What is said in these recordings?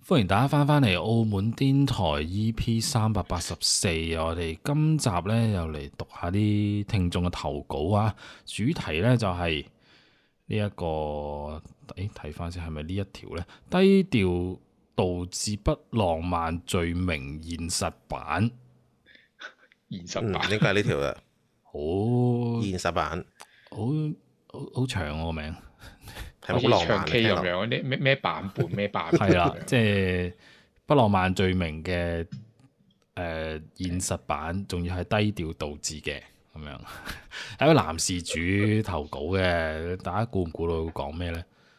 歡迎大家翻嚟澳門癲台 EP384，我哋今集呢又嚟讀下啲聽眾嘅投稿啊！主題呢就係呢一個，睇翻先係咪呢一條呢？低調導致不浪漫罪名現實版， 現實版應該係呢條嘅， 好現實版， 好長個名。 好似長期咁樣，啲咩版本咩版本？ 係啦，即係不浪漫罪名嘅現實版，仲要係低調導致嘅咁樣。係一個男事主投稿嘅，大家估唔估到會講咩咧？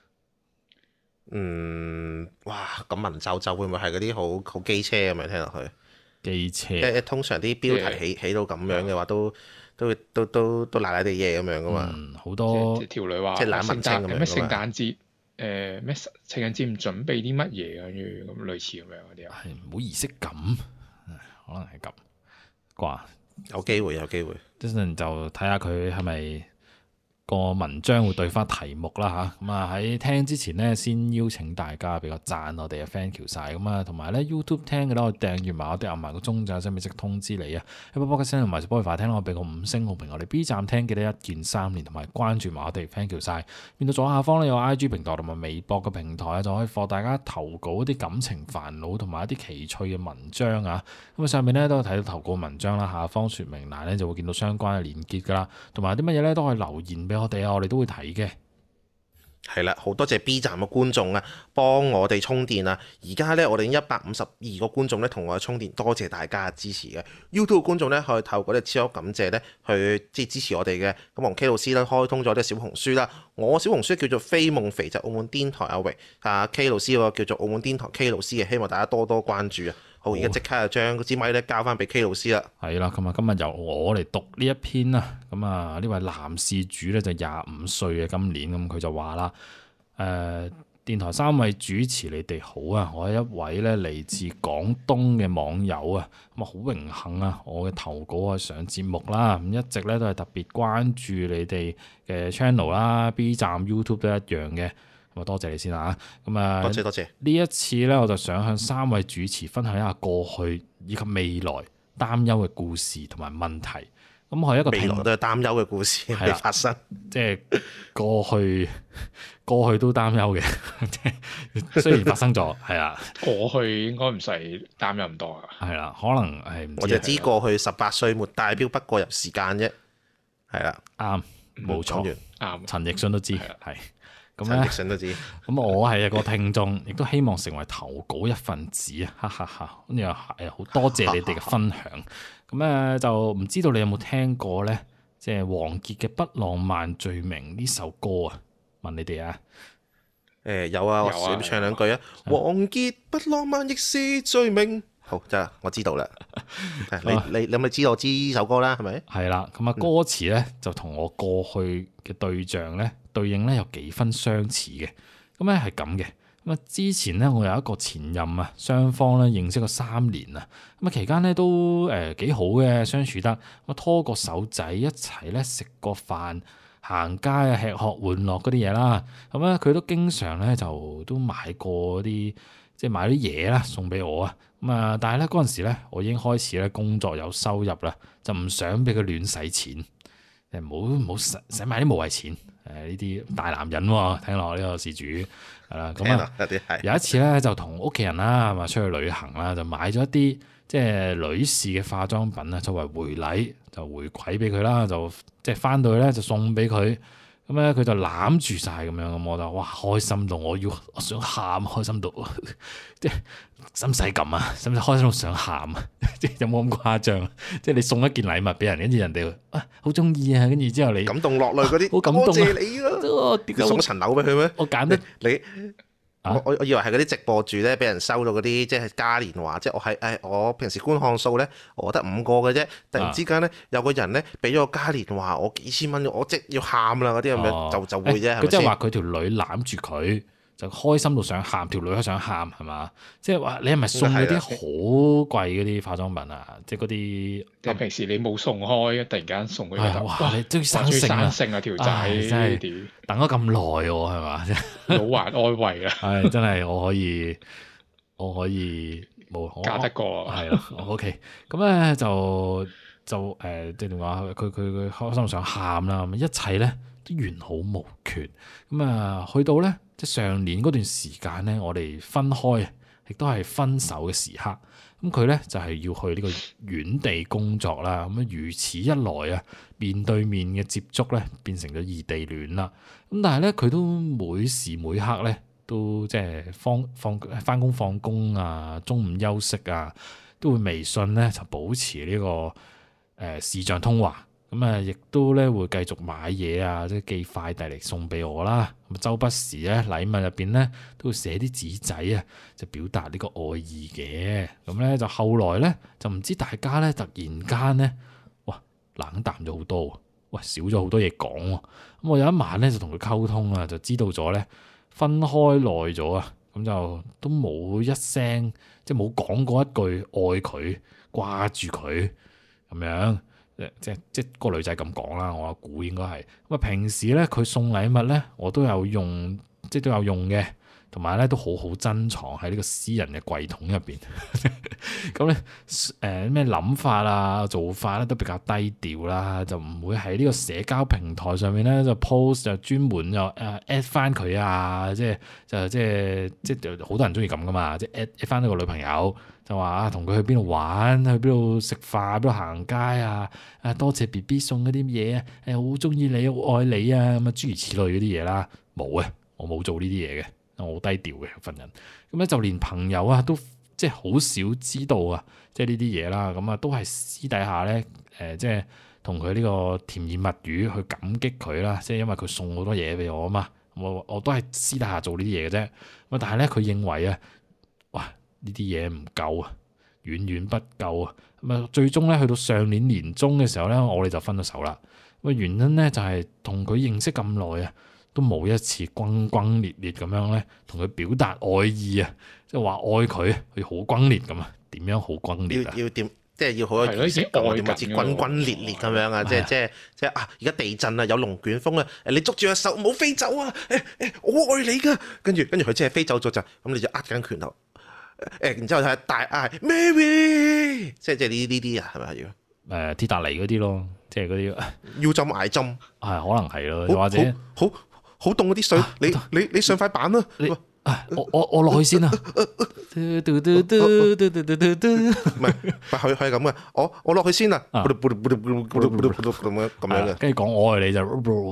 哇！咁文縐縐會唔會係嗰啲好機車咁樣聽落去？ 機車， 通常啲標題起到咁樣嘅話，都賴賴地嘢咁樣噶嘛。 好多條女話， 即係懶文青咁樣。 咩聖誕節？咩情人節唔準備啲乜嘢啊？咁類似咁樣嗰啲啊。 係冇儀式感，可能係咁啩。 有機會，有機會。 一陣就睇下佢係咪個文章會對翻題目啦吓，咁啊喺聽之前呢，先邀請大家俾個讚我哋啊 thank you 晒咁啊，同埋咧 YouTube 聽嘅咧，我訂閱埋我哋，撳埋個鐘仔，先俾即通知你啊。Apple Podcast 同埋 Spotify 聽我俾個5星好評，我哋 B 站聽記得1鍵3連，同埋關注埋我哋 thank you 晒。見到左下方咧有 IG 平台同埋微博嘅平台啊，就可以放大家投稿一啲感情煩惱同埋一啲奇趣嘅文章啊。咁啊上面咧都有睇到投稿文章啦，下方說明欄咧就會見到相關嘅連結噶啦，同埋啲乜嘢咧都可以留言俾我哋啊，我哋都會睇嘅。 係啦，好多謝 B 站嘅觀眾啊，幫我哋充電啊！而家咧，我哋152個觀眾咧同我哋充電，多謝大家嘅支持嘅。YouTube 觀眾咧可以透過啲超級感謝咧去支持我哋嘅。咁我同 K 老師咧開通咗啲小紅書啦，我小紅書叫做飛夢肥就澳門癲台阿榮，K 老師個叫做澳門癲台 K 老師嘅，希望大家多多關注啊！好，而家即刻就將嗰支咪咧交翻俾 K 老師啦。係啦，咁啊，今日由我嚟讀呢一篇啦。咁啊，呢位男事主咧就25歲嘅，今年咁佢就話啦：電台3位主持你哋好啊！我係一位咧嚟自廣東嘅網友啊，咁啊好榮幸啊！我嘅投稿啊上節目啦，咁一直咧都係特別關注你哋嘅 channel 啦，B 站、YouTube 都一樣嘅。咁啊，多謝你先啦，咁啊， 多謝。 呢一次咧，我就想向3位主持分享一下過去以及未來擔憂嘅故事同埋問題。咁我係一個未來都係擔憂嘅故事未發生， 即係過去都擔憂嘅，雖然發生咗，係啦。 過去應該唔使擔憂咁多啊。 係啦，可能係我就知過去18歲沒代表不過入時間啫。係啦， 啱，冇錯，啱。陳奕迅都知係。咁咧，咁我係一個聽眾，亦都希望成為投稿一份子啊！哈哈哈，咁又係好多謝你哋嘅分享。咁咧就唔知道你有冇聽過咧，即係王傑嘅《不浪漫罪名》呢首歌啊？問你哋啊？ 有啊，我唱兩句啊！王傑不浪漫亦是罪名。好，真係我知道啦。你咪知道我知呢首歌啦，係咪？ 係啦，咁啊歌詞咧就同我過去嘅對象咧對應咧有幾分相似嘅。咁咧係咁嘅。咁啊之前咧我有一個前任啊，雙方咧認識咗3年啊。咁啊期間咧都幾好嘅，相處得。咁啊拖個手仔一齊咧食個飯、行街啊、吃喝玩樂嗰啲嘢啦。咁咧佢都經常咧就都買過啲即係買啲嘢啦送俾我啊。咁啊，但係咧嗰陣時咧，我已經開始咧工作有收入啦，就唔想俾佢亂使錢，唔好使埋啲無謂錢。呢啲大男人喎，聽落呢個事主係啦。咁啊，有一次咧就同屋企人啦，咁啊出去旅行啦，就買咗一啲即係女士嘅化妝品啊，作為回禮就回饋俾佢啦，就即係翻到去咧就送俾佢。咁咧佢就攬住晒咁樣，咁我就哇開心到我想喊，開心到即係使唔使咁啊？使唔使開心到想喊啊？即係有冇咁誇張？即係你送一件禮物俾人，跟住人哋好中意啊，跟住之後你感動落淚嗰啲， 好感動啊！ 多謝你咯，你送層樓俾佢咩？ 我揀得你。我以為係嗰啲直播主咧，俾人收到嗰啲即係嘉年華，即係我平時觀看數咧，我得5個嘅啫。突然之間咧，有個人咧俾咗個嘉年華，我幾千蚊，我即要喊啦嗰啲咁樣，就會啫。 佢即係話佢條女攬住佢，就開心到想喊，條女都想喊係嘛？即係話你係咪送嗰啲好貴嗰啲化妝品啊？即係嗰啲即係平時你冇送開，突然間送佢， 哇！你終於生性啊條仔，真係等咗咁耐喎，係嘛？ 老懷安慰啊！ 係真係我可以我可以冇嫁得過係啦，OK。咁咧就即係點講？佢開心想喊啦，咁一切咧都完好無缺。咁啊，去到咧即係上年嗰段時間咧，我哋分開，亦都係分手嘅時刻。咁佢咧就係要去呢個遠地工作啦。咁啊，如此一來啊，面對面嘅接觸咧變成咗異地戀啦。咁但係咧，佢都每時每刻咧都即係翻工放工啊，中午休息啊，都會微信咧就保持呢個視像通話。咁啊，亦都咧會繼續買嘢啊，即係寄快遞嚟送俾我啦。咁周不時咧禮物入邊咧都會寫啲紙仔啊，就表達呢個愛意嘅。咁咧就後來咧就唔知大家咧突然間咧，哇冷淡咗好多，喂少咗好多嘢講喎。咁我有一晚咧就同佢溝通啊，就知道咗咧分開耐咗啊，咁就都冇一聲，即係冇講過一句愛佢、掛住佢咁樣。即個女仔咁講啦，我估應該係咁啊。平時咧佢送禮物咧，我都有用，即係都有用嘅，同埋咧都好好珍藏喺呢個私人嘅櫃桶入邊。咁咧咩諗法啊、做法咧都比較低調啦，就唔會喺呢個社交平台上面咧就 post 就專門就at 翻佢啊，即係好多人中意咁噶嘛，即係 at 翻呢個女朋友。就話啊，同佢去邊度玩，去邊度食飯，邊度行街啊！啊，多謝 BB 送嗰啲嘢啊！誒，好中意你，好愛你啊！咁啊，諸如此類嗰啲嘢啦，冇啊，我冇做呢啲嘢嘅，我好低調嘅份人。咁咧就連朋友啊，都即係好少知道啊，即係呢啲嘢啦。咁啊，都係私底下咧，即係同佢呢個甜言蜜語去感激佢啦。即係因為佢送好多嘢俾我啊嘛，我都係私底下做呢啲嘢嘅啫。咁但係咧，佢認為啊，哇！呢啲嘢唔夠啊，遠遠不夠啊！咁啊，最終咧去到上年年中嘅時候咧，我哋就分咗手啦。咁原因咧就係同佢認識咁耐啊，都冇一次轟轟烈烈咁樣咧，同佢表達愛意啊，即係話愛佢，佢好轟烈咁啊？點樣好轟烈啊？ 要點？即係要好有儀式感，點樣似轟轟烈烈咁樣啊？即係啊！而家地震啊，有龍捲風啊！你捉住隻手，唔好飛走啊！我愛你噶。跟住佢即係飛走咗就，咁你就握緊拳頭。然之後睇大嗌 Mary， 即係呢啲啊，係咪要鐵達尼嗰啲咯，即係嗰啲腰針捱針， 係可能係咯，或者好凍嗰啲水，你上塊板啦， 我落去先啊，唔係可以咁嘅，我落去先啊，咁樣嘅， 跟住講我愛你就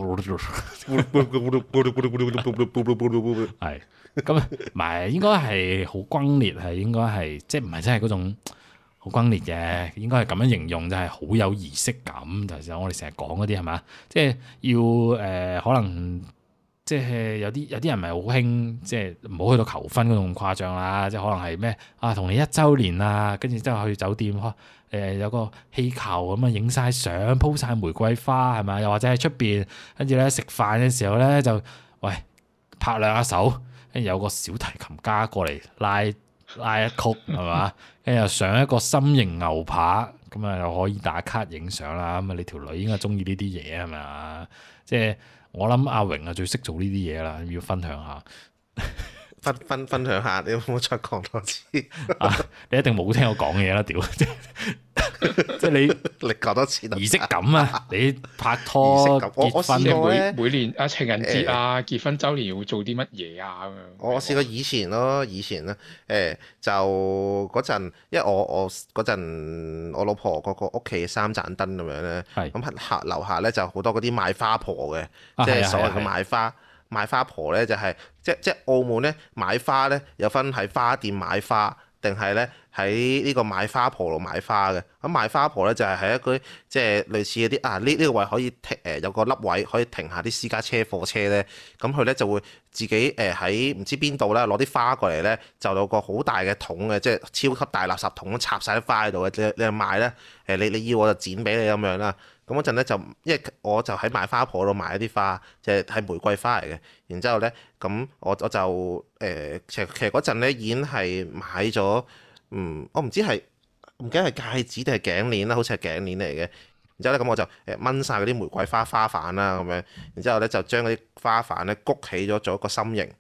係。咁唔係應該係好轟烈，係應該係即係唔係真係嗰種好轟烈嘅，應該係咁樣形容就係好有儀式感。就係我哋成日講嗰啲係嘛，即係要可能即係有啲人唔係好興，即係唔好去到求婚嗰種咁誇張啦。即係可能係咩啊，同你1週年啊，跟住之後去酒店有個氣球咁啊，影晒相，鋪晒玫瑰花係咪？又或者喺出邊跟住咧食飯嘅時候咧就喂拍兩下手。跟住有個小提琴家過嚟拉一曲係嘛，跟住又上一個心形牛扒，咁啊又可以打卡影相啦。咁啊你條女應該中意呢啲嘢係咪啊？即係我諗阿榮啊最識做呢啲嘢啦，要分享下。 分享下，你有冇再講多次？ 你一定冇聽我講嘢啦，屌！即係你講多次儀式感啊！你拍拖結婚每年啊情人節啊結婚週年會做啲乜嘢啊咁樣？ 我試過以前咧，就嗰陣，因為我嗰陣我老婆嗰個屋企3盞燈咁樣咧，咁樓下咧就好多嗰啲賣花婆嘅，即係所謂嘅賣花婆咧就係即澳門咧買花咧有分喺花店買花，定係咧喺呢個買花婆度買花嘅。咁賣花婆咧就係喺一個即係類似嗰啲啊呢個位可以停有個凹位可以停下啲私家車貨車咧，咁佢咧就會自己喺唔知邊度咧攞啲花過嚟咧，就有個好大嘅桶嘅，即係超級大垃圾桶插晒啲花喺度嘅，你賣咧你要我就剪俾你咁樣啦。咁嗰陣咧就，因為我就喺賣花鋪度買一啲花，就係玫瑰花嚟嘅。然之後咧，咁我就其實嗰陣咧已經係買咗，我唔記得係戒指定係頸鏈啦，好似係頸鏈嚟嘅。然之後咧，咁我就掹晒嗰啲玫瑰花瓣啦，咁樣。然之後咧就將嗰啲花瓣咧谷起咗做一個心形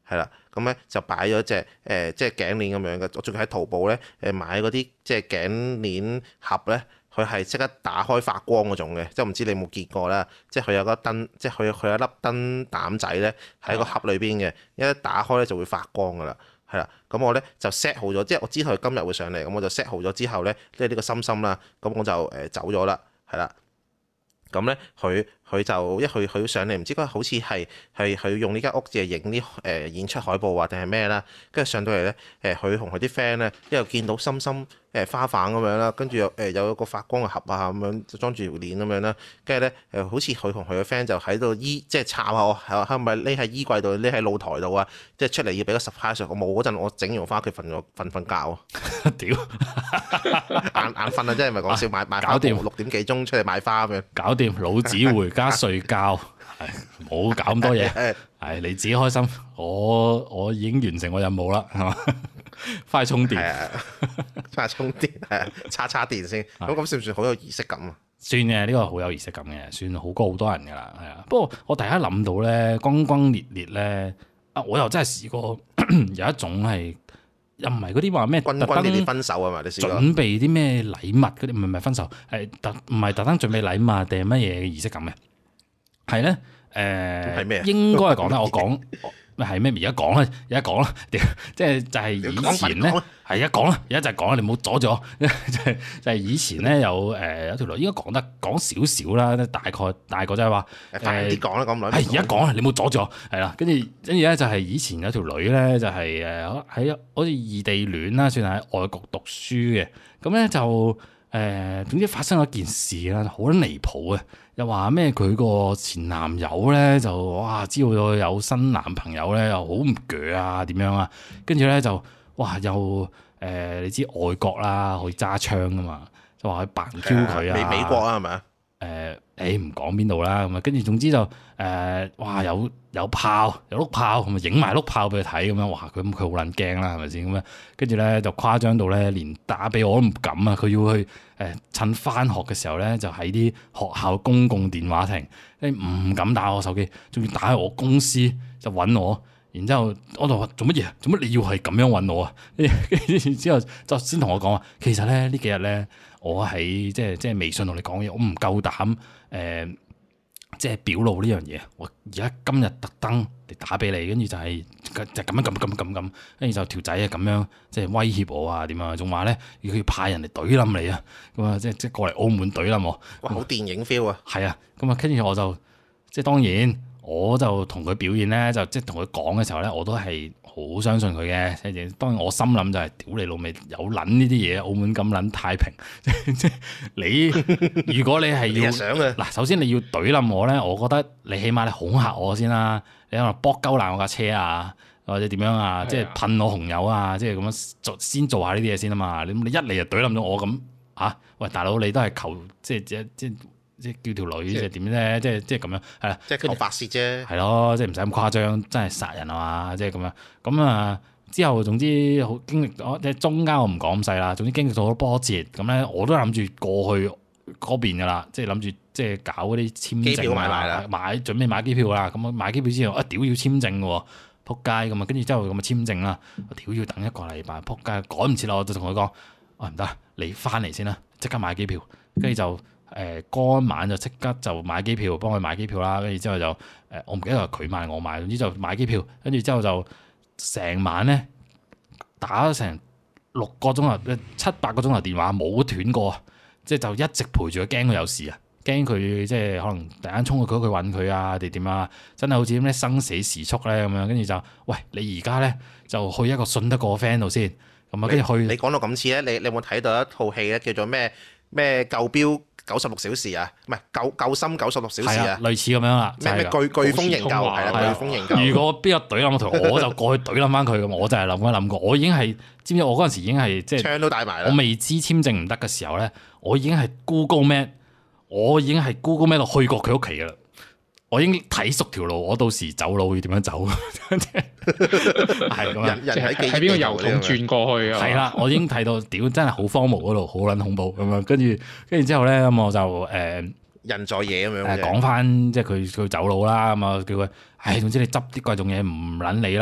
係啦，咁咧就擺咗隻即係頸鏈咁樣嘅，我仲要喺淘寶咧買嗰啲即係頸鏈盒咧。佢係即刻打開發光嗰種嘅，即係唔知你有冇見過啦。即係佢有個燈，即係佢有粒燈膽仔咧喺個盒裏邊嘅，一打開咧就會發光噶啦，係啦。咁我咧就 set 好咗，即係我知道佢今日會上嚟，咁我就 set 好咗之後咧，即係呢個心心啦，咁我就走咗啦，係啦。咁咧佢就佢上嚟，唔知嗰好似係佢用呢間屋就影啲演出海報啊定係咩啦，跟住上到嚟咧佢同佢啲 friend 咧一路見到心心花瓣咁樣啦，跟住有一個發光嘅盒啊咁樣就裝住條鏈咁樣啦，跟住咧好似佢同佢嘅 friend 就喺度即係插下我係咪匿喺衣櫃度匿喺露台度啊，即係出嚟要俾個 surprise 我冇嗰陣，我整完翻屋企瞓覺啊！ 屌眼瞓啊！真係咪講笑買花6點幾鐘出嚟買花咁樣， 搞掂老子回家睡覺，係冇搞咁多嘢，係你自己開心，我已經完成我任務啦，係嘛？翻去充電， 翻去充電，係叉電先。咁算唔算好有儀式感啊？ 算嘅，呢個好有儀式感嘅，算好過好多人噶啦，係啊。不過我第一諗到咧，轟轟烈烈咧，我又真係試過有一種係。又唔係嗰啲話咩特登烈烈分手啊嘛？你試過準備啲咩禮物嗰啲？唔係分手，係唔係特登準備禮物定係乜嘢儀式感嘅？係咧係咩？ 應該係講啦，我講係咩？而家講啦，而家講啦，即係就係以前咧，係而家講啦，而家就係講啦，你唔好阻住我。就係以前咧有條女，應該講少少啦，大概就係話快啲講啦，咁耐。 係而家講啦，你唔好阻住我。係啦，跟住咧就係以前有條女咧，就係喺好似異地戀啦，算係喺外國讀書嘅。咁咧就總之發生咗件事啦，好離譜嘅。又話咩佢個前男友咧就哇知道有新男朋友咧又好唔鋸啊點樣啊，跟住咧就哇又你知外國啦可以揸槍噶嘛，就話去扮 Q 佢啊， 美國啊係咪啊？ 唔講邊度啦咁啊，跟住總之就哇有炮有碌炮，咁啊影埋碌炮俾佢睇咁樣，哇佢好撚驚啦係咪先咁樣？跟住咧就誇張到咧連打俾我都唔敢啊！佢要去趁翻學嘅時候咧，就喺啲學校公共電話亭，唔敢打我手機，仲要打去我公司就揾我。然之後我就話做乜嘢？做乜你要係咁樣揾我啊？跟住之後就先同我講話，其實咧呢幾日咧我喺即係微信同你講嘢，我唔夠膽即係表露呢樣嘢。我而家今日特登嚟打俾你，跟住就係咁樣，跟住就條仔啊咁樣即係威脅我啊點啊，仲話咧要佢派人嚟懟冧你啊，咁啊即係過嚟澳門懟冧我。 哇！好電影 feel 啊！ 係啊，咁啊跟住我就即係當然。我就同佢表現咧，就即係同佢講嘅時候咧，我都係好相信佢嘅。即係當然我心諗就係屌你老味有撚呢啲嘢，澳門咁撚太平。即係你如果你係要嗱，首先你要懟冧我咧，我覺得你起碼你恐嚇我先啦。你可能搏鳩爛我架車啊，或者點樣啊，即係噴我紅油啊，即係咁樣先做下呢啲嘢先啊嘛。你一嚟就懟冧咗我咁嚇，喂大佬你都係求即係叫條女即係點咧？即係咁樣係啦， 即係求發泄啫。 係咯，即係唔使咁誇張，真係殺人啊嘛！即係咁樣咁啊。之後總之好經歷，即係中間我唔講咁細啦。總之經歷咗好多波折，咁咧我都諗住過去嗰邊噶啦，即係諗住即係搞嗰啲簽證機票買埋啦， 準備買機票啦。咁啊買機票之後屌要簽證嘅喎，撲街咁啊！跟住之後咁啊簽證啦，屌要等1個禮拜，撲街趕唔切啦！我就同佢講，唔得，你翻嚟先啦，即刻買機票，跟住就。嗰晚就即刻就買機票，幫佢買機票啦。跟住之後就我唔記得係佢買我買，總之就買機票。跟住之後就成晚咧打咗成6個鐘頭、7、8個鐘頭電話冇斷過，即係就一直陪住佢，驚佢有事啊，驚佢即係可能突然間衝去佢揾佢啊，定點啊？真係好似咩生死時速咧咁樣。跟住就喂，你而家咧就去一個信得過 friend 度先咁啊。跟住去你講到咁似咧，你有冇睇到一套戲咧叫做咩救鏢96小時啊，唔係救心96小時啊， 類似咁樣啦。 咩颶風營救係啦，颶風營救。 如果邊個懟冧我，我就過去懟冧翻佢咁。我就係諗過，我已經係知唔知？我嗰陣時已經係即係槍都帶埋啦。 我未知簽證唔得嘅時候咧，我已經係 Google Map 度去過佢屋企噶啦。我已經睇熟條路，我到時走路要點樣走？係咁樣， 人喺邊個油桶轉過去啊？ 係啦，我已經睇到，屌真係好荒蕪嗰度，好撚恐怖咁樣。跟住之後咧，咁我就人在野咁樣講翻，即係佢走佬啦。咁啊叫佢，總之你執啲貴重嘢唔撚理啦，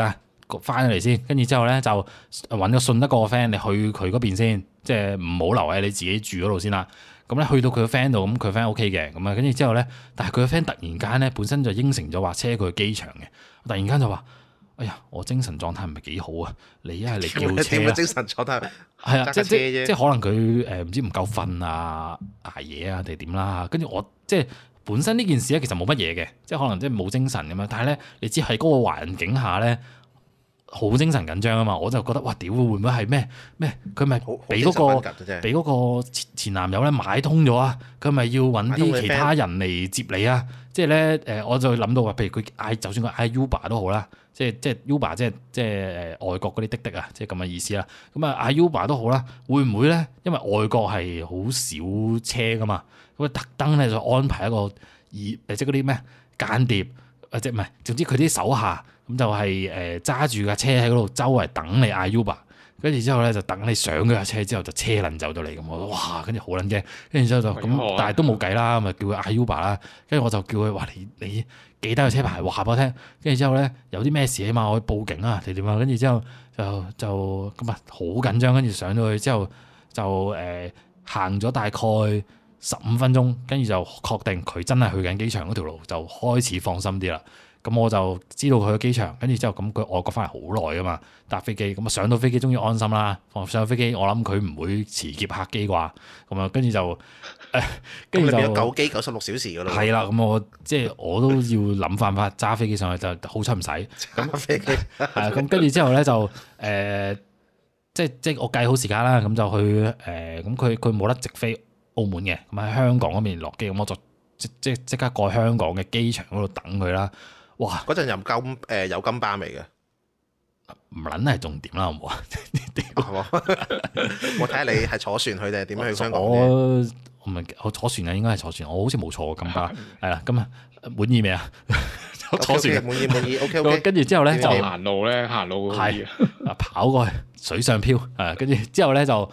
翻嚟先，跟住之後咧就揾個信得過嘅 friend，你去佢嗰邊先，即係唔好留喺你自己住嗰度先啦。咁咧去到佢個 friend 度，咁佢 friend OK 嘅，咁啊跟住之後咧，但係佢個 friend 突然間咧本身就應承咗話車佢去機場嘅，突然間就話：哎呀，我精神狀態唔係幾好啊！你一係嚟叫車啊！ 精神狀態係啊，即係可能佢唔知唔夠瞓啊、捱夜啊定係點啦。跟住我即係本身呢件事咧，其實冇乜嘢嘅，即係可能即係冇精神咁樣。但係咧，你知喺嗰個環境下咧，好精神緊張啊嘛！我就覺得哇，屌會唔會係咩？佢咪俾嗰個前男友咧買通咗啊？佢咪要揾啲其他人嚟接你啊？即係咧我就諗到話，譬如佢嗌，就算佢嗌 Uber 都好啦，即係 Uber 即係外國嗰啲滴滴啊，即係咁嘅意思啦。咁啊嗌 Uber 都好啦，會唔會咧？因為外國係好少車噶嘛，咁啊特登咧就安排一個即係嗰啲咩間諜即係唔係？總之佢啲手下。咁就係揸住架車喺嗰度周圍等你嗌 Uber，跟住之後咧就等你上嗰架車之後就車輪走到嚟咁，我哇跟住好撚驚，跟住之後就咁，但係都冇計啦，咪叫佢嗌 Uber 啦，跟住我就叫佢話你記得個車牌話俾我聽，跟住之後咧有啲咩事起碼我去報警啊定點啊，跟住之後就咁啊好緊張，跟住上到去之後就行咗大概15分鐘，跟住就確定佢真係去緊機場嗰條路，就開始放心啲啦。咁我就知道佢去機場，跟住之後咁佢外國翻嚟好耐噶嘛，搭飛機咁啊上到飛機終於安心啦。上到飛機我諗佢唔會遲劫客機啩，咁啊跟住就跟住就 9機96小時噶咯。 係啦，咁我都要諗辦法揸飛機上去，就好彩唔使。 揸飛機係啊，咁跟住之後咧就即係我計好時間啦，咁就去咁佢冇得直飛澳門嘅，咁喺香港嗰邊落機，咁我就即刻過香港嘅機場嗰度等佢啦。哇！ 嗰陣有金巴未嘅？ 唔撚係重點啦，好唔好啊？ 我睇下你係坐船去定係點樣去香港？ 我坐船啊，應該係坐船。我好似冇坐過金巴。係啦，咁啊滿意未啊？坐船滿意。OK。 跟住之後咧就行路係跑過去水上漂啊！跟住之後咧就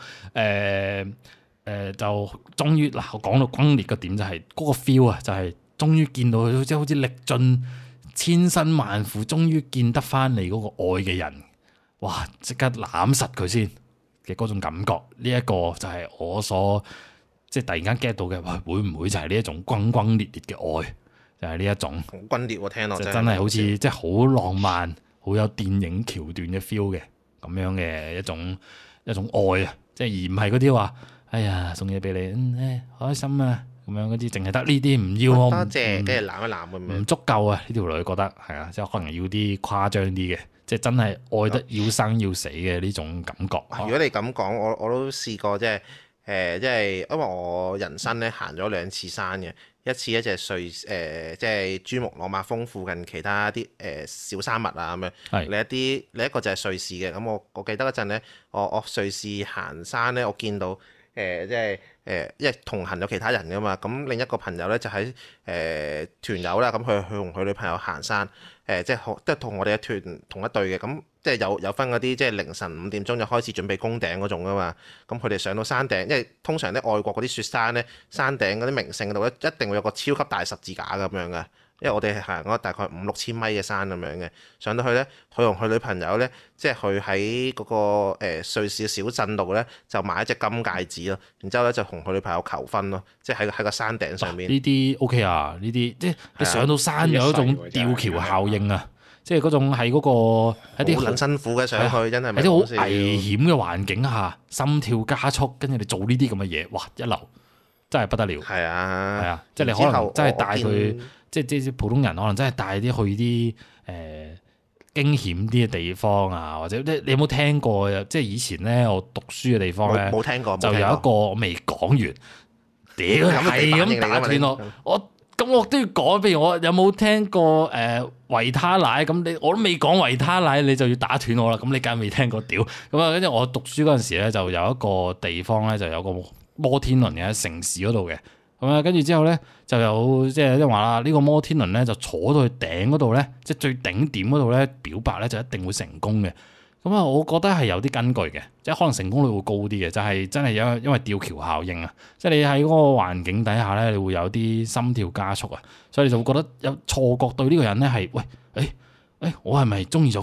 就終於嗱，我講到轟烈嘅點就係嗰個 feel 啊，就係終於見到佢，即係好似歷盡千辛萬苦，終於見得翻你嗰個愛嘅人，哇！即刻攬實佢先嘅嗰種感覺，呢一個就係我所即係突然間 get 到嘅，會唔會就係呢一種轟轟烈烈嘅愛？就係呢一種好轟烈喎，聽落真係好似即係好浪漫、好有電影橋段嘅 feel 嘅咁樣嘅一種愛啊！即係而唔係嗰啲話，哎呀送嘢俾你，開心啊！咁樣嗰啲，淨係得呢啲唔要我， 多謝，跟住攬一攬咁樣， 唔足夠啊！呢條女覺得係啊，即係可能要啲誇張啲嘅，即係真係愛得要生要死嘅呢種感覺。 如果你咁講，我都試過，即係因為我人生咧行咗2次山嘅，一次咧就係即係珠穆朗瑪峰附近其他啲小山脈啊咁樣，另一個就係瑞士嘅。咁我記得嗰陣咧，我瑞士行山咧，我見到即係。因為同行有其他人噶嘛，咁另一個朋友咧就喺團友啦，咁佢同佢女朋友行山，即係同我哋嘅團同一隊嘅，咁即係有分嗰啲即係凌晨5點鐘就開始準備攻頂嗰種噶嘛，咁佢哋上到山頂，因為通常咧外國嗰啲雪山咧，山頂嗰啲名勝嗰度咧一定會有個超級大十字架咁樣嘅。因為我哋係行嗰大概5-6千米嘅山咁樣嘅，上到去咧，佢同佢女朋友咧，即係佢喺嗰個瑞士嘅小鎮度咧，就買一隻金戒指咯，然之後咧就同佢女朋友求婚咯，即係喺個山頂上面。 呢啲 OK 啊，呢啲即係你上到山有一種吊橋效應啊，即係嗰種喺嗰個一啲好辛苦嘅上去，真係喺啲好危險嘅環境下，心跳加速，跟住你做呢啲咁嘅嘢，哇一流，真係不得了。 係啊， 即係你可能真係帶佢。即係普通人可能真係帶啲去啲驚險啲嘅地方啊，或者你有冇聽過？即係以前咧，我讀書嘅地方咧， 冇聽過， 就有一個我未講完，屌係咁打斷我都要講。譬如我有冇聽過維他奶咁？我都未講維他奶，你就要打斷我啦。咁你梗係未聽過屌咁啊？跟住我讀書嗰陣時咧，就有一個地方咧，就有個摩天輪嘅喺城市嗰度嘅。咁啊，跟住之後咧，就有即係話啦，呢個摩天輪咧就坐到去頂嗰度咧，即係最頂點嗰度咧，表白咧就一定會成功嘅。咁啊，我覺得係有啲根據嘅，即係可能成功率會高啲嘅，就係真係因為吊橋效應啊，即係你喺嗰個環境底下咧，你會有啲心跳加速啊，所以你就會覺得有錯覺對呢個人咧係喂，我係咪中意咗佢啊？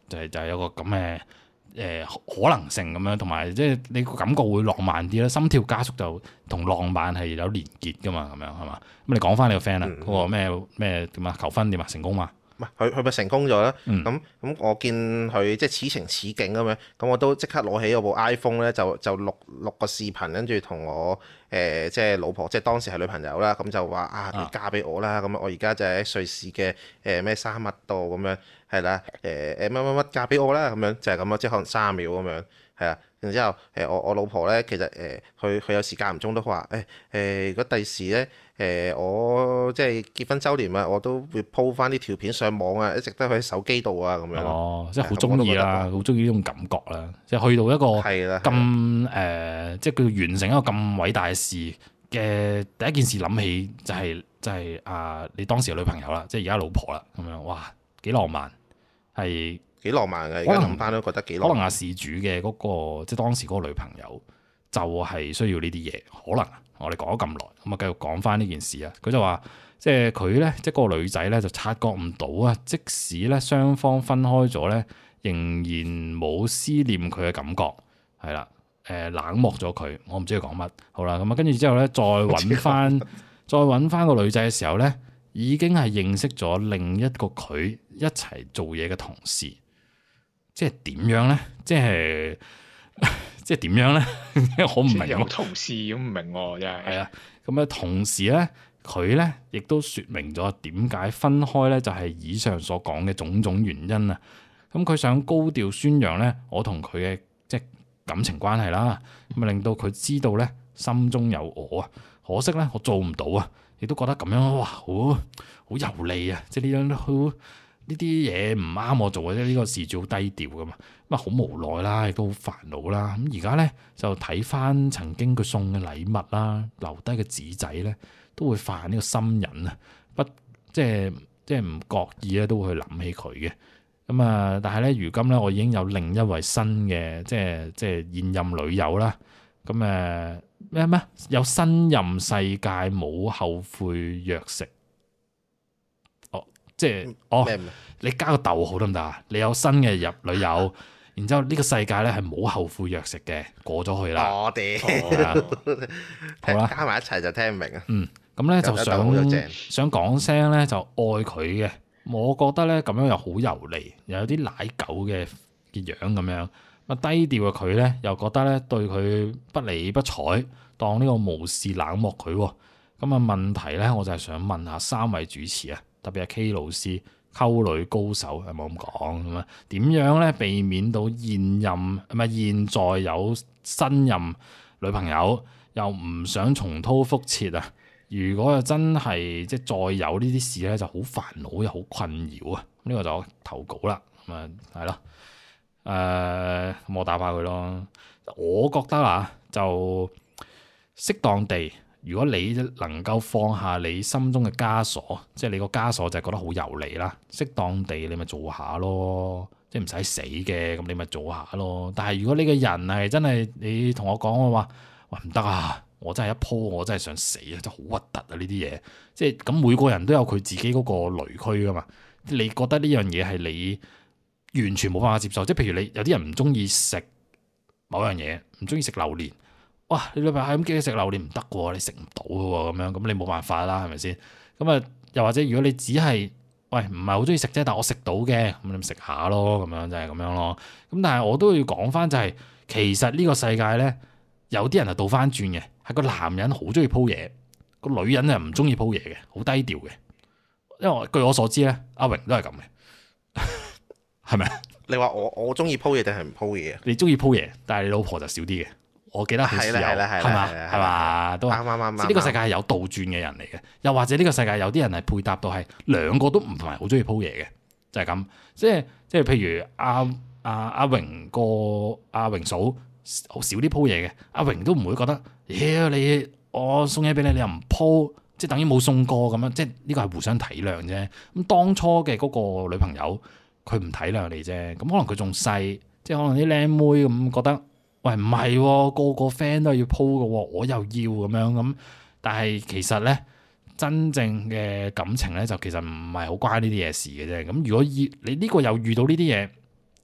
係有個咁嘅可能性咁樣，同埋即係你個感覺會浪漫啲啦，心跳加速就同浪漫係有連結噶嘛，咁樣係嘛？咁你講翻你個 friend 啦，嗰個咩點啊？求婚點啊？成功嘛？ 佢咪成功咗啦？咁我見佢即係此情此景咁樣，咁我都即刻攞起我部 iPhone 咧，就錄個視頻，跟住同我即係老婆，即係當時係女朋友啦，咁就話你嫁俾我啦，咁我而家就喺瑞士嘅咩沙漠度咁樣，係啦，乜嫁俾我啦，咁樣就係咁咯，即係可能30秒咁樣，係啊。然之後我老婆咧，其實佢有時間唔中都話如果第時咧我即係結婚週年啊，我都會 po 翻啲條片上網啊，一直都喺手機度啊咁樣。哦， 即係好中意啦，好中意呢種感覺啦，即係去到一個咁即係佢完成一個咁偉大嘅事嘅第一件事諗起就係你當時嘅女朋友啦，即係而家老婆啦，咁樣哇幾浪漫係。 幾浪漫嘅，而家諗翻都覺得幾浪漫。 可能阿事主嘅嗰個即係當時嗰個女朋友就係需要呢啲嘢，可能我哋講咗咁耐，咁啊繼續講翻呢件事啊。佢就話即係佢咧，即係嗰個女仔咧就察覺唔到啊，即使咧雙方分開咗咧，仍然冇思念佢嘅感覺，係啦，冷漠咗佢。我唔知佢講乜。好啦，咁啊跟住之後咧，再揾翻個女仔嘅時候咧，已經係認識咗另一個佢一齊做嘢嘅同事。即係點樣咧？即係點樣咧？我唔明。 有同事咁唔明喎，真係。係啊， 咁啊，同時咧，佢咧亦都説明咗點解分開咧，就係以上所講嘅種種原因啊。咁佢想高調宣揚咧，我同佢嘅即係感情關係啦，咁啊令到佢知道咧，心中有我啊。可惜咧，我做唔到啊，亦都覺得咁樣哇，好油膩啊！即係呢樣都好。呢啲嘢唔啱我做嘅啫，呢個事主好低調噶嘛，咁啊好無奈啦，亦都好煩惱啦。咁而家咧就睇翻曾經佢送嘅禮物啦，留低嘅紙仔咧，都會犯呢個心癮啊，即係唔覺意咧都會去諗起佢嘅。咁啊，但係咧如今咧我已經有另一位新嘅即係現任女友啦。咁咩有新任世界冇後悔藥食。即係你加個逗號得唔得啊？你有新嘅女友，然之後呢個世界咧係冇後悔藥食嘅，過咗去啦。我哋好啦， 加埋一齊就聽唔明啊。 咁咧就想講聲咧就愛佢嘅，我覺得咧咁樣又好油膩，又有啲奶狗嘅樣咁樣。啊低調嘅佢咧又覺得咧對佢不理不睬，當呢個無視冷漠佢。咁啊問題咧，我就係想問下3位主持啊。特別係 K 老師溝女高手係冇咁講咁啊？點樣咧避免到現在有新任女朋友又唔想重蹈覆轍啊？如果又真係即係再有呢啲事咧，就好煩惱又好困擾啊！呢個就我投稿啦，咁啊係咯，咁我打返佢咯。我覺得啊，就適當地。如果你能夠放下你心中嘅枷鎖，即係你個枷鎖就係覺得好油膩啦，適當地你咪做下咯，即係唔使死嘅，咁你咪做下咯。但係如果你個人係真係你同我講嘅話，喂唔得啊，我真係一鋪我真係想死啊，真係好核突啊呢啲嘢。即係咁每個人都有佢自己嗰個雷區噶嘛，你覺得呢樣嘢係你完全冇辦法接受，即係譬如你有啲人唔中意食某樣嘢，唔中意食榴蓮。哇！你女朋友係咁叫你食榴蓮唔得喎，你食唔到嘅喎，咁樣咁你冇辦法啦，係咪先？咁啊，又或者如果你只係喂唔係好中意食啫，但我食到嘅，咁你咪食下咯，咁樣就係咁樣咯。咁但係我都要講翻就係，其實呢個世界咧，有啲人係倒翻轉嘅，係個男人好中意鋪嘢，個女人係唔中意鋪嘢嘅，好低調嘅。因為據我所知咧，阿榮都係咁嘅，係咪？你話我中意鋪嘢定係唔鋪嘢啊？ 你中意鋪嘢，但係你老婆就少啲嘅。我記得係有，係嘛，都啱。呢個世界係有倒轉嘅人嚟嘅，又或者呢個世界有啲人係配搭到係兩個都唔係好中意鋪嘢嘅，就係咁。即係譬如阿榮阿榮嫂好少啲鋪嘢嘅，阿榮都唔會覺得，你我送嘢俾你，你又唔鋪，即係等於冇送過咁樣。即係呢個係互相體諒啫。咁當初嘅嗰個女朋友，佢唔體諒你啫。咁可能佢仲細，即係可能啲靚妹咁覺得。喂，唔係喎，個個 friend 都要鋪嘅喎，我又要咁樣咁。但係其實咧，真正嘅感情咧，就其實唔係好關呢啲嘢事嘅啫。咁如果你呢個又遇到呢啲嘢，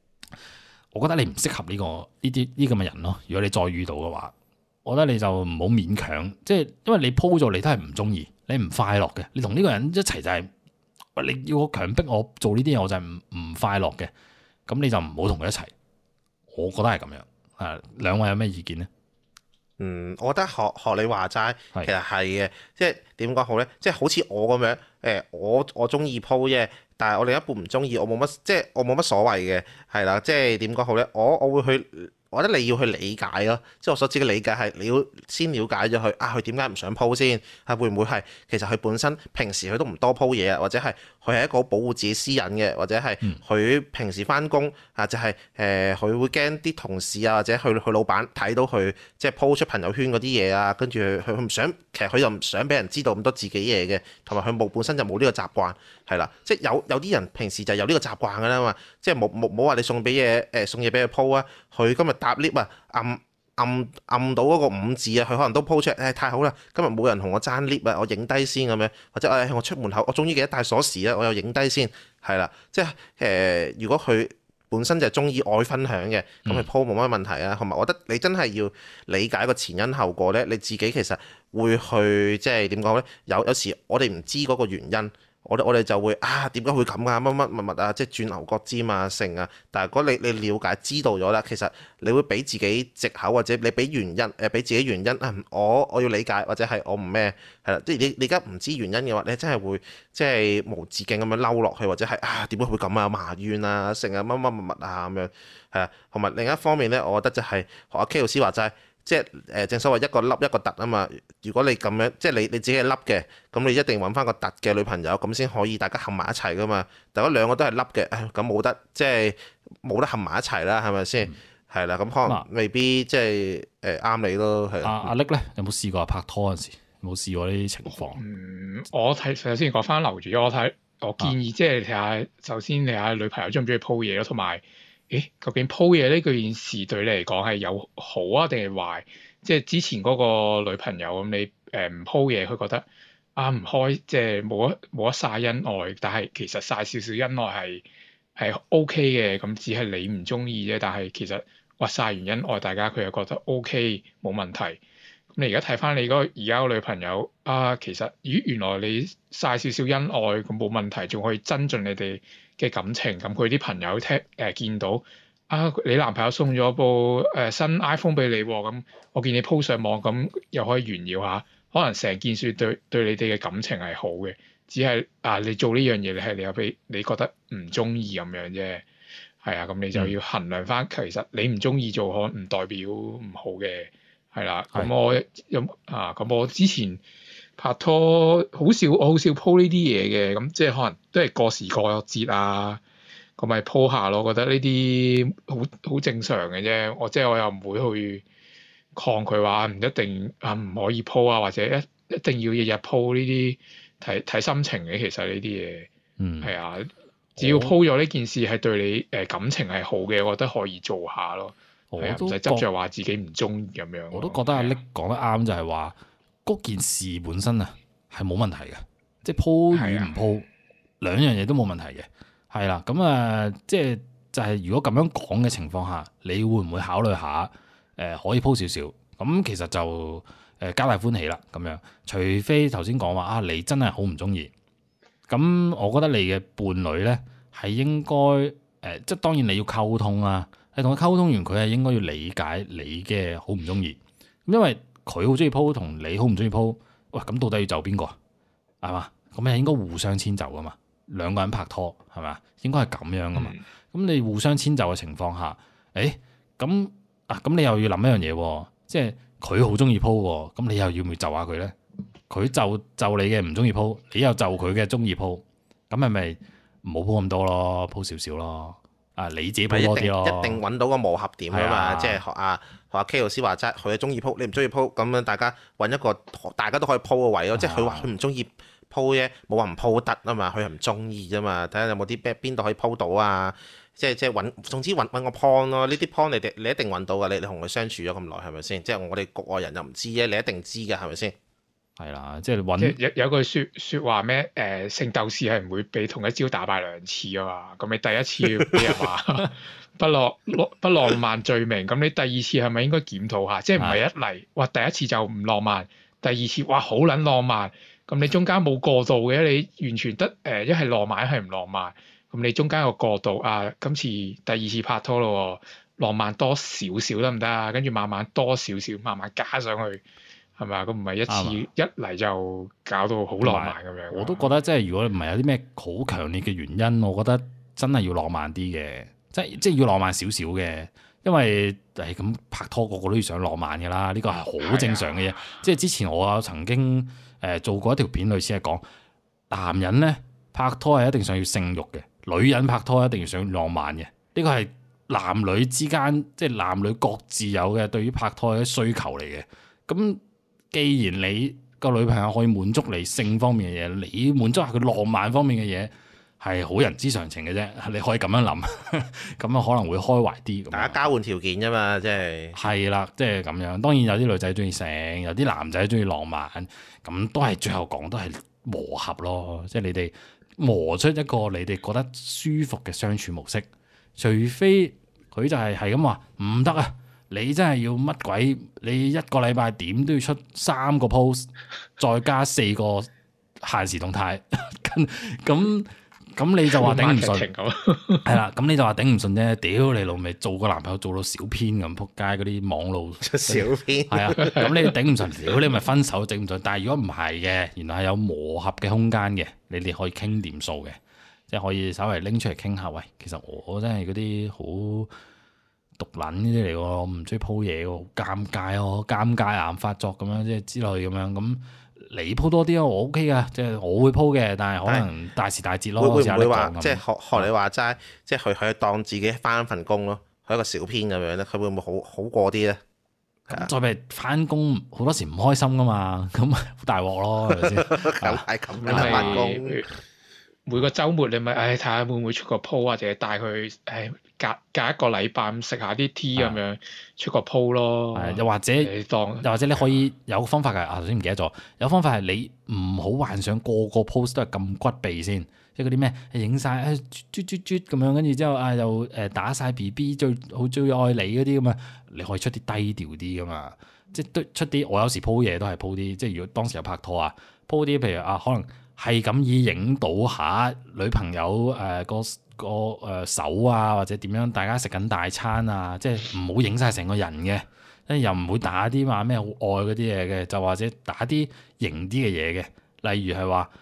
我覺得你唔適合呢咁嘅人咯。如果你再遇到嘅話，我覺得你就唔好勉強，即係因為你鋪咗你都係唔中意，你唔快樂嘅。你同呢個人一齊就係，你要我強迫我做呢啲嘢，我就係唔快樂嘅。咁你就唔好同佢一齊。我覺得係咁樣。啊，兩位有咩意見呢？ 我覺得學你話齋，其實係嘅，即係點講好咧？即係好似我咁樣，我中意鋪啫，但係我另一半唔中意，我冇乜所謂嘅，係啦，即係點講好咧？我會去。我覺得你要去理解咯，即係我所指嘅理解係你要先了解咗佢佢點解唔想鋪先，係會唔會係其實佢本身平時佢都唔多鋪嘢啊，或者係佢係一個好保護自己私隱嘅，或者係佢平時翻工就係佢會驚啲同事啊或者佢老闆睇到佢即係鋪出朋友圈嗰啲嘢啊，跟住佢唔想，其實佢又唔想俾人知道咁多自己嘢嘅，同埋佢本身就冇呢個習慣，係啦，即係有啲人平時就有呢個習慣㗎啦嘛，即係冇話你送嘢俾佢鋪啊，佢今日搭 lift 啊，按到嗰個5字啊，佢可能都 po 出嚟，太好啦！今日冇人同我爭 lift 啊，我影低先咁樣，或者我出門口，我終於記得帶鎖匙啦，我又影低先，係啦，即係如果佢本身就係中意愛分享嘅，咁佢 po 冇乜問題啊。同埋我覺得你真係要理解個前因後果咧，你自己其實會去即係點講咧？有時我哋唔知嗰個原因。我哋就會點解會咁啊？乜啊？即係轉牛角尖啊，成啊！但係如果你了解知道咗啦，其實你會俾自己藉口或者你俾原因俾自己原因啊！我要理解或者係我唔咩係啦，即係你而家唔知原因嘅話，你真係會即係無止境咁樣嬲落去，或者係點解會咁啊？埋怨啊，成啊乜啊咁樣係啊！同埋另一方面咧，我覺得就係學阿 K 老師話齋。即係正所謂一個凹一個凸啊嘛！如果你咁樣，即係你自己係凹嘅，咁你一定揾翻個凸嘅女朋友，咁先可以大家合埋一齊噶嘛。但如果兩個都係凹嘅，咁冇得即係冇得合埋一齊啦，係咪先？係啦，咁可能未必即係啱你咯。係阿力咧，有冇試過拍拖嗰陣時？有冇試過呢啲情況？ 我睇首先講翻樓主，我建議即係睇下，首先你下女朋友中唔中意鋪嘢咯，同埋。究竟鋪嘢呢件事對你嚟講係有好啊定係壞？即係之前嗰個女朋友咁，你唔鋪嘢，佢覺得唔開，即係冇得曬恩愛，但係其實曬少少恩愛係 OK 嘅，咁只係你唔中意啫。但係其實曬完恩愛，大家佢又覺得 OK 冇問題。咁你而家睇翻你而家個女朋友其實原來你曬少少恩愛咁冇問題，仲可以增進你哋嘅感情。咁佢啲朋友見到你男朋友送咗部新 iPhone 俾你喎，咁我見你 po 上網，咁又可以炫耀下，可能成件事對你哋嘅感情係好嘅，只係你做呢樣嘢你又俾你覺得唔中意咁樣啫，係啊，咁你就要衡量翻，其實你唔中意做可能唔代表唔好嘅，係啦，咁我之前拍拖我好少 po 呢啲嘢嘅，咁即係可能都係過時過節啊。咁咪 po 下咯，覺得呢啲好正常嘅啫。我又唔會去抗拒話唔一定唔可以 po 啊，或者一定要日日 po 呢啲，睇心情嘅。其實呢啲嘢，係啊，只要 po 咗呢件事係對你感情係好嘅，我覺得可以做下咯。係啊，唔使執着話自己唔中意咁樣。 我都覺得阿力講得啱，就係話嗰件事本身係冇問題嘅，即係 po 與唔 po 兩樣嘢都冇問題嘅。係啦，咁即係就係如果咁樣講嘅情況下，你會唔會考慮下可以 po 少少？咁其實就皆大歡喜啦，咁樣。除非頭先講話你真係好唔中意，咁我覺得你嘅伴侶咧係應該即係當然你要溝通啦。你同佢溝通完，佢係應該要理解你嘅好唔中意，因為佢好中意 po 同你好唔中意 po，喂，咁到底要就邊個啊？係嘛？咁係應該互相遷就噶嘛。兩個人拍拖係咪？應該係咁樣噶嘛。咁你互相遷就嘅情況下，咁你又要諗一樣嘢喎，即係佢好中意 po 喎，咁你又要唔要就下佢咧？佢就你嘅唔中意 po，你又就佢嘅中意 po，咁係咪唔好 po 咁多咯？po 少少咯。你自己 po 多啲咯。 一定揾到個磨合點啊嘛，即係學阿 K 老師話齋，佢係中意 po，你唔中意 po，咁樣大家揾一個大家都可以 po 嘅位咯。即係佢話佢唔中意鋪啫，冇話唔鋪得啊嘛，佢係唔中意啫嘛，睇下有冇啲邊度可以鋪到啊，即係揾，總之揾個 point 咯，呢啲 point 你一定揾到噶，你同佢相處咗咁耐係咪先？即係我哋局外人又唔知啫，你一定知嘅係咪先？ 係啦，即係揾即係有句説話咩？聖鬥士係唔會被同一招打敗兩次啊嘛。咁你第一次俾人話不浪漫罪名，咁你第二次係咪應該檢討下？即係唔係一嚟哇第一次就唔浪漫，第二次哇好撚浪漫，咁你中間冇過渡嘅，你完全得一係浪漫一係唔浪漫，咁你中間有過渡啊？今次第二次拍拖咯，浪漫多少少得唔得啊？跟住慢慢多少少，慢慢加上去。係咪啊？咁唔係一次一嚟就搞到好浪漫咁樣。 我都覺得即係如果唔係有啲咩好強烈嘅原因，我覺得真係要浪漫啲嘅，即係要浪漫少少嘅。因為咁拍拖個個都要想浪漫㗎啦，呢個係好正常嘅嘢。即係之前我曾經做過一條片，類似係講男人咧拍拖係一定想要性慾嘅，女人拍拖一定要想浪漫嘅。呢個係男女之間即係男女各自有嘅對於拍拖嘅需求嚟嘅。咁既然你個女朋友可以滿足你性方面嘅嘢，你滿足下佢浪漫方面嘅嘢，係好人之常情嘅啫。你可以咁樣諗，咁啊可能會開懷啲。 大家交換條件啫嘛，即係係啦，即係咁樣。當然有啲女仔中意性，有啲男仔中意浪漫，咁都係最後講都係磨合咯。即係你哋磨出一個你哋覺得舒服嘅相處模式，除非佢就係咁話唔得啊！你真係要乜鬼？你一個禮拜點都要出3個 post， 再加4個限時動態，咁你就話頂唔順，係啦，咁你就話頂唔順啫。屌你老味，做個男朋友做到小編咁，仆街嗰啲網路小編， 係啊，咁你頂唔順，屌你咪分手頂唔順。但係如果唔係嘅，原來係有磨合嘅空間嘅，你哋可以傾掂數嘅，即係可以稍微拎出嚟傾下。喂，其實我真係嗰啲好毒撚呢啲嚟喎，我唔中意鋪嘢喎，好尷尬喎，尷尬癌發作咁樣，即係之類咁樣。咁你鋪多啲啊，我 OK 噶，即係我會鋪嘅，但係可能大時大節咯。 會唔會話即係學你話齋，即係佢當自己翻份工咯，佢一個小編咁樣咧，佢會唔會好過啲咧？ 再咪翻工好多時唔開心噶嘛，咁好大鑊咯，係咪先？ 梗係咁樣翻工。 每個週末你咪睇下會唔會出個 po 或者帶佢隔一個禮拜咁食下啲 tea 咁樣出個 po 咯。 又或者你可以有方法㗎。頭先唔記得咗，有方法係你唔好幻想個 post 都係咁骨鼻先，即係嗰啲咩影晒啜咁樣，跟住之後又打晒 BB 最愛你嗰啲咁啊，你可以出啲低調啲㗎嘛。即係出啲我有時 po 嘢都係 po 啲，即係如果當時有拍拖啊 po 啲，譬如可能。係咁以影到下女朋友個手啊，或者點樣，大家食緊大餐啊，即係唔好影晒成個人嘅，跟住又唔會打啲話咩好愛嗰啲嘢嘅，就或者打啲型啲嘅嘢嘅，例如係話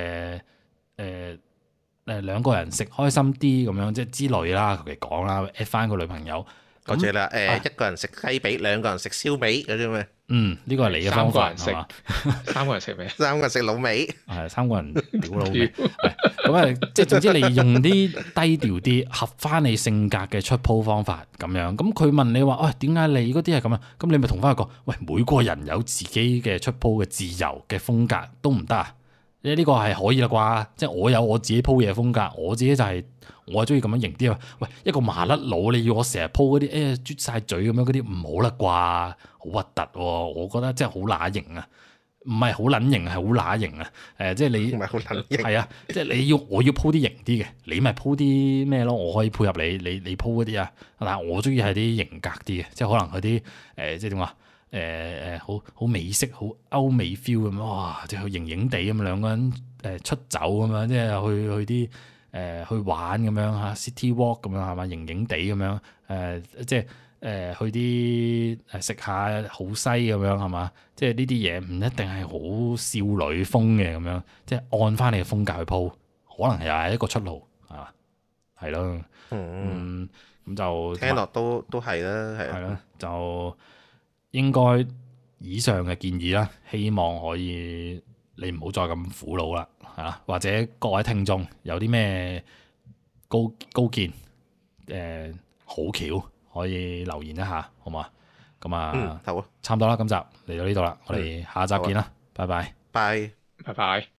兩個人食開心啲咁樣，即係之類啦，求其講啦 at 翻個女朋友。 嗰隻啦，一個人食雞髀，兩個人食燒味嗰啲咩？ 呢個係你嘅方法係嘛？ 三個人食咩？ 三個人食滷味， 係三個人屌滷味。咁啊，即係總之你用啲低調啲，合翻你性格嘅出 po 方法咁樣。咁佢問你話，喂，點解你嗰啲係咁啊？咁你咪同翻佢講，喂，每個人有自己嘅出 po 嘅自由嘅風格都唔得啊？呢個係可以啦啩？即係我有我自己 po 嘢風格，我自己就係我係中意咁樣型啲啊！喂，一個麻甩佬，你要我成日 po 嗰啲啜晒嘴咁樣嗰啲唔好啦啩？好核突喎！我覺得真係好乸型啊！唔係好撚型，係好乸型啊！即係你唔係好撚型， 係啊！即係我要 po 啲型啲嘅，你咪 po 啲咩咯？我可以配合你 po 嗰啲啊！但係我中意係啲型格啲嘅，即係可能嗰啲即係點話？好美式、好歐美 feel 咁樣，哇！即係型型地咁兩個人出走咁樣，即係去啲去玩咁樣嚇 city walk 咁樣係嘛，型型地咁樣即係去啲食下好西咁樣係嘛，即係呢啲嘢唔一定係好少女風嘅咁樣，即係按翻你嘅風格去鋪，可能又係一個出路係嘛，係咯，咁就聽落都係啦，係咯，就。應該以上嘅建議啦，希望可以你唔好再咁苦惱啦，嚇！或者各位聽眾有啲咩高見好橋可以留言一下，好嘛？咁啊， 好啊， 差唔多啦，今集嚟到呢度啦，我哋下集見啦，拜拜， 拜。 拜拜。